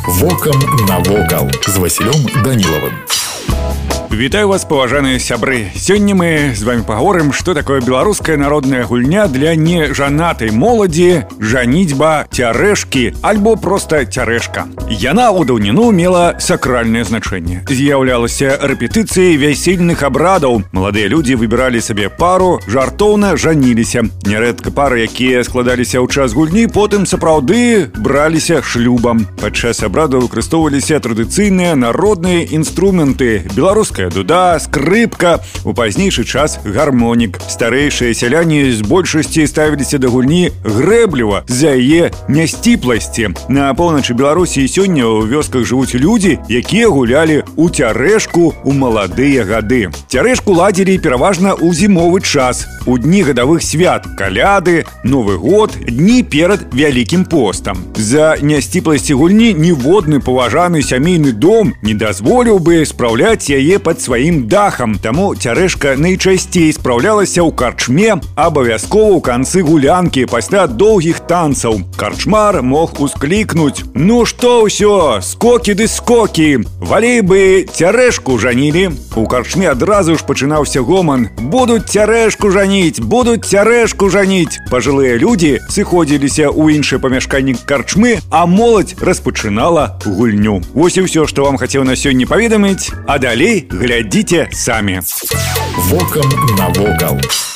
Вокам навокал з Васілём Данілавым. Вітаю вас, паважаныя сябры. Сёння мы з вами паговорым, што такое беларуская народная гульня для нежанатай моладзі, жаніцьба цярэшкі альбо проста цярэшка. Яна ў даўніну мела сакральнае значэнне. З'яўлялася рэпетыцыяй вясельных абрадаў. Маладыя людзі выбіралі сабе пару, жартоўна жаніліся. Нярэдка пары, якія складаліся ў час гульні, потым сапраўды браліся шлюбам. Падчас абраду выкарыстоўваліся традыцыйныя народныя інструменты: беларуская дуда, скрыпка, у пазнейшы час гармонік. Старэйшыя сяляне з большасці ставіліся да гульні грэбліва з-за яе нясціпласці. На поўначы Беларусі сёння ў вёсках жывуць людзі, якія гулялі ў цярэшку ў маладыя гады. Цярэшку ладзілі пераважна ў зімовы час, у дні гадавых свят: каляды, Новы год, дні перад Вялікім постам. За нясціпласці гульні ніводны паважаны сямейны дом не дазволіў бы спраўляць яе пад сваім дахам, таму цярэшка найчасцей спраўлялася ў карчме, абавязкова ў канцы гулянкі пасля доўгіх танцаў. Карчмар мог усклікнуць: «Ну што ўсё, скокі ды скокі, валей бы цярэшку жанілі». У карчме адразу ж пачынаўся гоман: «Будуць цярэшку жаніць, будуць цярэшку жаніць». Пажылыя людзі сыходзіліся ў іншыя памяшканні карчмы, а моладзь распачынала гульню. Вось і ўсё, што вам хацеў на сёння паведаміць, а далей глядзіце самі. Вокам навокал.